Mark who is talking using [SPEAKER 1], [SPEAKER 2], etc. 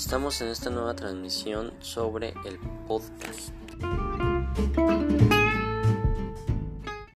[SPEAKER 1] Estamos en esta nueva transmisión sobre el podcast.